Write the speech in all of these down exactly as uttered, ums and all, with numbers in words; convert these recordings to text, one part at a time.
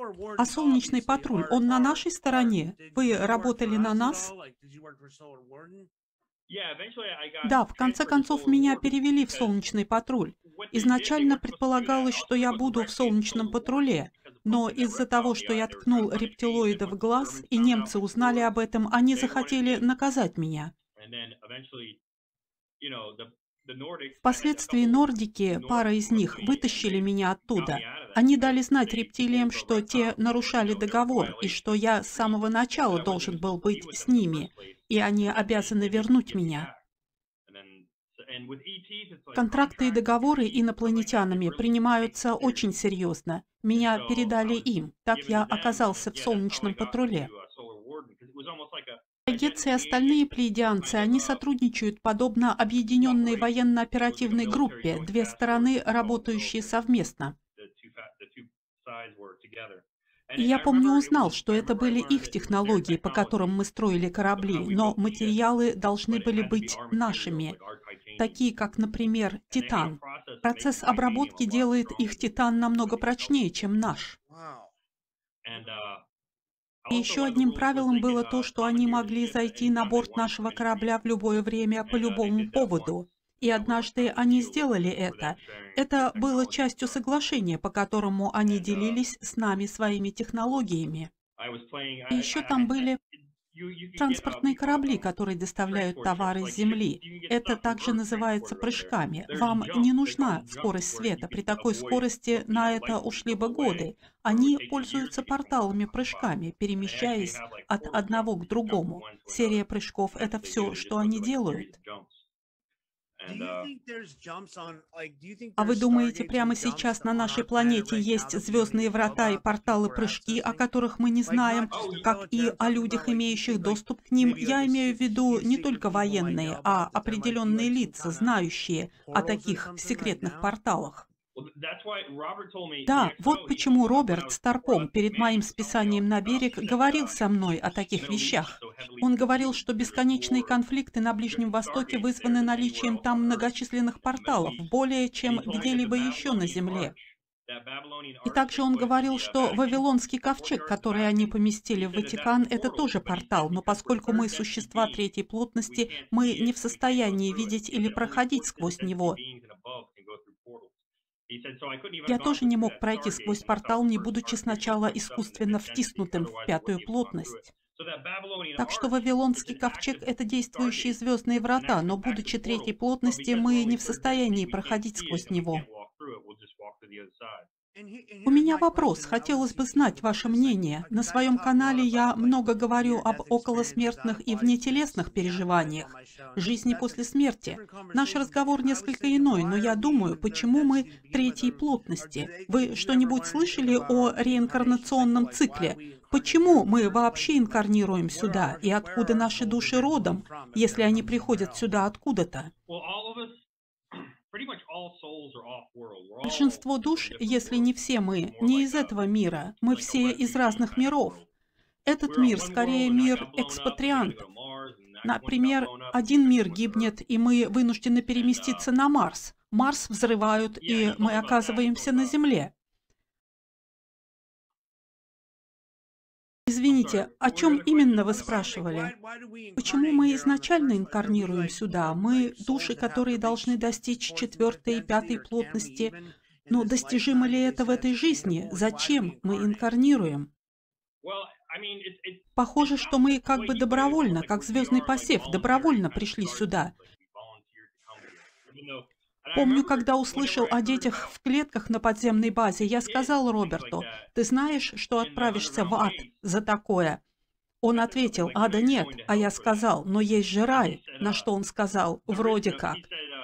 А солнечный патруль, он на нашей стороне? Вы работали на нас? Да, в конце концов меня перевели в солнечный патруль. Изначально предполагалось, что я буду в солнечном патруле, но из-за того, что я ткнул рептилоида в глаз, и немцы узнали об этом, они захотели наказать меня. Впоследствии нордики, пара из них, вытащили меня оттуда. Они дали знать рептилиям, что те нарушали договор, и что я с самого начала должен был быть с ними, и они обязаны вернуть меня. Контракты и договоры инопланетянами принимаются очень серьезно. Меня передали им, так я оказался в солнечном патруле. Гетцы и остальные плейдианцы, они сотрудничают подобно объединенной военно-оперативной группе, две стороны, работающие совместно. И я помню, узнал, что это были их технологии, по которым мы строили корабли, но материалы должны были быть нашими, такие как, например, титан. Процесс обработки делает их титан намного прочнее, чем наш. И еще одним правилом было то, что они могли зайти на борт нашего корабля в любое время по любому поводу. И однажды они сделали это. Это было частью соглашения, по которому они делились с нами своими технологиями. И еще там были транспортные корабли, которые доставляют товары с Земли. Это также называется прыжками. Вам не нужна скорость света. При такой скорости на это ушли бы годы. Они пользуются порталами-прыжками, перемещаясь от одного к другому. Серия прыжков – это все, что они делают. А вы думаете, прямо сейчас на нашей планете есть звездные врата и порталы-прыжки, о которых мы не знаем, как и о людях, имеющих доступ к ним? Я имею в виду не только военные, а определенные лица, знающие о таких секретных порталах. Да, вот почему Роберт Старпом перед моим списанием на берег говорил со мной о таких вещах. Он говорил, что бесконечные конфликты на Ближнем Востоке вызваны наличием там многочисленных порталов, более чем где-либо еще на Земле. И также он говорил, что Вавилонский ковчег, который они поместили в Ватикан, это тоже портал, но поскольку мы существа третьей плотности, мы не в состоянии видеть или проходить сквозь него. Я тоже не мог пройти сквозь портал, не будучи сначала искусственно втиснутым в пятую плотность. Так что Вавилонский ковчег – это действующие звездные врата, но будучи третьей плотности, мы не в состоянии проходить сквозь него. У меня вопрос, хотелось бы знать ваше мнение. На своем канале я много говорю об околосмертных и внетелесных переживаниях, жизни после смерти. Наш разговор несколько иной, но я думаю, почему мы третьей плотности? Вы что-нибудь слышали о реинкарнационном цикле? Почему мы вообще инкарнируем сюда? И откуда наши души родом, если они приходят сюда откуда-то? Большинство душ, если не все мы, не из этого мира. Мы все из разных миров. Этот мир скорее мир экспатриантов. Например, один мир гибнет, и мы вынуждены переместиться на Марс. Марс взрывают, и мы оказываемся на Земле. Извините, о чем именно вы спрашивали? Почему мы изначально инкарнируем сюда? Мы души, которые должны достичь четвертой и пятой плотности. Но достижимо ли это в этой жизни? Зачем мы инкарнируем? Похоже, что мы как бы добровольно, как звездный посев, добровольно пришли сюда. Помню, когда услышал о детях в клетках на подземной базе, я сказал Роберту: «Ты знаешь, что отправишься в ад за такое?» Он ответил: «Ада нет». А я сказал: «Но есть же рай». На что он сказал: «Вроде как».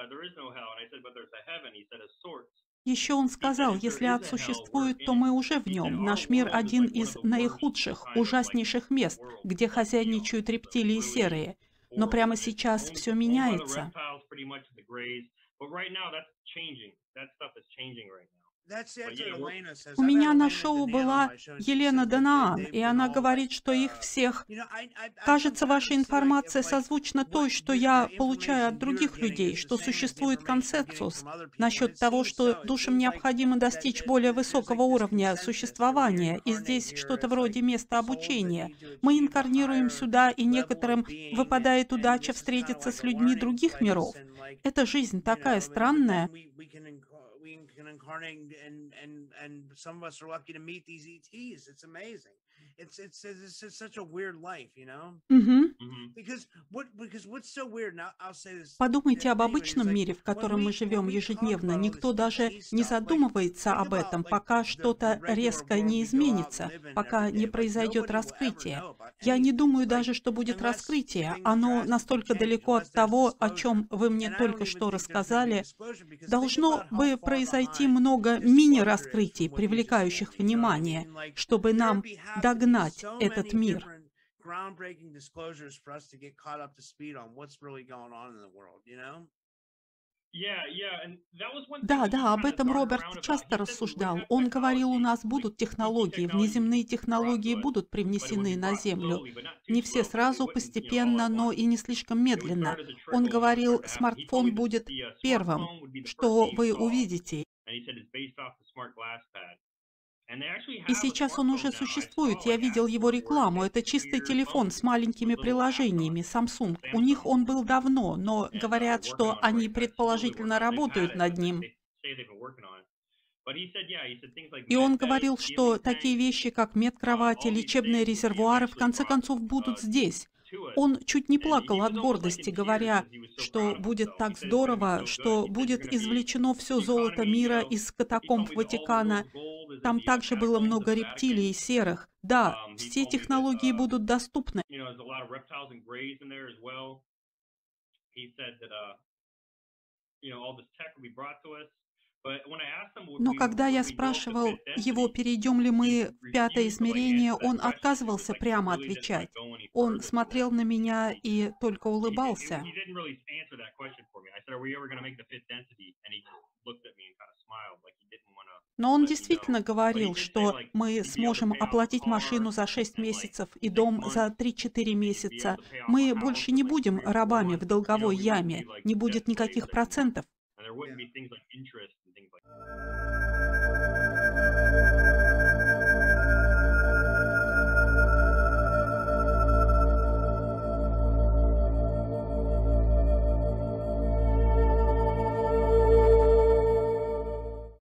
Еще он сказал: «Если ад существует, то мы уже в нем. Наш мир один из наихудших, ужаснейших мест, где хозяйничают рептилии серые. Но прямо сейчас все меняется». У меня на шоу была Елена Данаан, и она говорит, что их всех... Кажется, ваша информация созвучна той, что я получаю от других людей, что существует консенсус насчет того, что душам необходимо достичь более высокого уровня существования, и здесь что-то вроде места обучения. Мы инкарнируем сюда, и некоторым выпадает удача встретиться с людьми других миров. Эта жизнь такая странная. Мгм. Подумайте об обычном мире, в котором мы живем ежедневно. Никто даже не задумывается об этом, пока что-то резко не изменится, пока не произойдет раскрытие. Я не думаю даже, что будет раскрытие. Оно настолько далеко от того, о чем вы мне только что рассказали. Должно бы произойти много мини-раскрытий, привлекающих внимание, чтобы нам догнать этот мир. Да, да, об этом Роберт часто рассуждал. Он говорил, у нас будут технологии, внеземные технологии будут привнесены на Землю. Не все сразу, постепенно, но и не слишком медленно. Он говорил, смартфон будет первым, что вы увидите. И сейчас он уже существует, я видел его рекламу. Это чистый телефон с маленькими приложениями, Samsung. У них он был давно, но говорят, что они предположительно работают над ним. И он говорил, что такие вещи, как медкровати, лечебные резервуары, в конце концов будут здесь. Он чуть не плакал от гордости, говоря, что будет так здорово, что будет извлечено все золото мира из катакомб Ватикана. Там также было много рептилий и серых. Да, все технологии будут доступны. Но когда я спрашивал его, перейдем ли мы в пятое измерение, он отказывался прямо отвечать. Он смотрел на меня и только улыбался. Но он действительно говорил, что мы сможем оплатить машину за шесть месяцев и дом за три-четыре месяца. Мы больше не будем рабами в долговой яме, не будет никаких процентов.